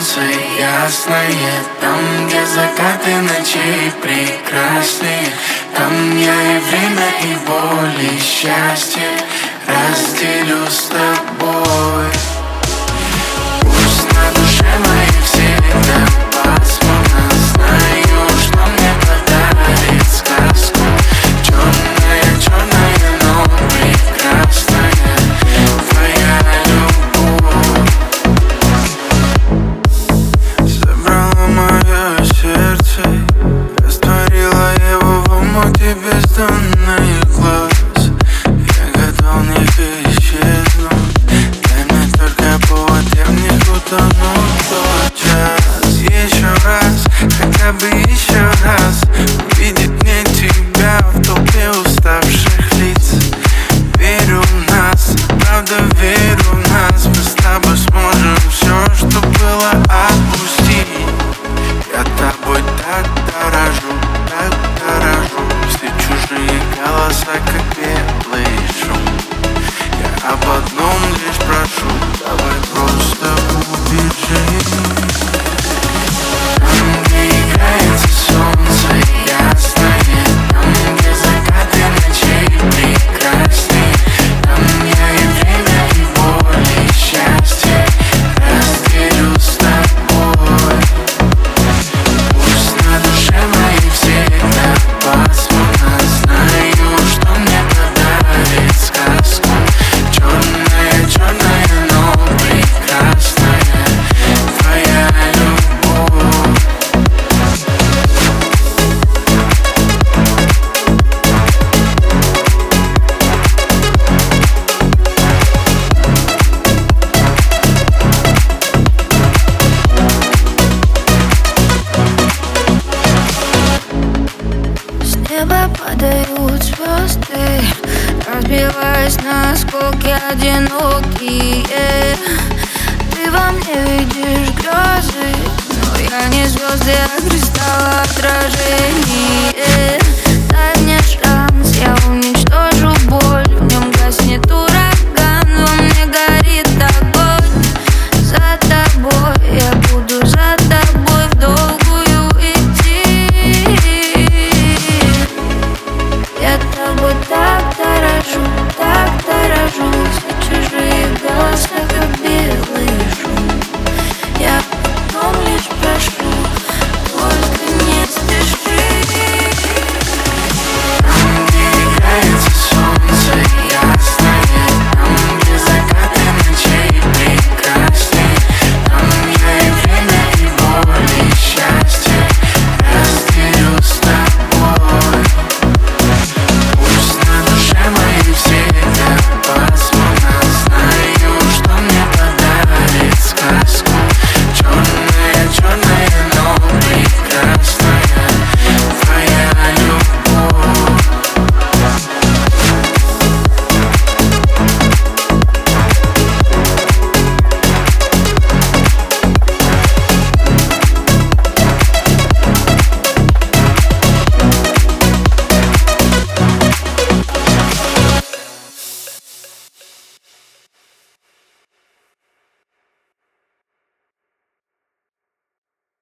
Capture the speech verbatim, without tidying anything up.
солнце ясное, там, где закаты ночей прекрасные, там я и время, и боль, и счастье разделю с тобой. Пусть на душе моей всегда пасмурно, знаю, что мне подарит сказку. Черная, черная, но прекрасная твоя любовь. Забрала мое сердце, растворила его в омуте бездонных глаз. Я готов в них исчезнуть, дай мне только повод, я в них утону тот час. Еще раз, хотя бы еще раз увидеть мне тебя в толпе уставших лиц. Верю в нас, правда верю в нас, мы с тобой сможем все, что было, отпустить. Я тобой так дорожу, так дорожу, если чужие голоса, как белый шум. Я об одном лишь прошу, давай просто убежим. Там, где играется солнце ясное, там, где закаты ночей прекрасные, там я и время, и боль, и счастье разделю с тобой. Пусть на душе моей всегда пасмурно, знаю, что мне подарит сказку. Черная, черная, но прекрасная твоя любовь. С неба падают звезды, разбиваясь на осколки одинокие.